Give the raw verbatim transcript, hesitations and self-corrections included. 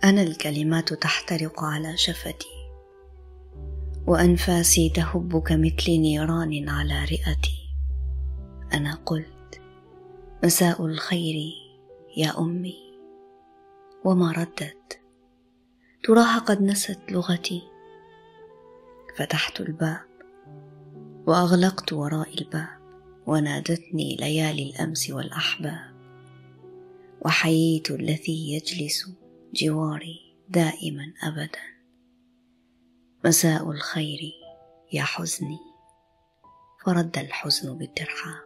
أنا الكلمات تحترق على شفتي، وأنفاسي تهب كمثل نيران على رئتي. أنا قلت: مساء الخير يا أمي، وما ردت. تراها قد نست لغتي. فتحت الباب وأغلقت وراء الباب، ونادتني ليالي الأمس والأحباب، وحييت الذي يجلس جواري دائما أبدا. مساء الخير يا حزني، فرد الحزن بالترحاب.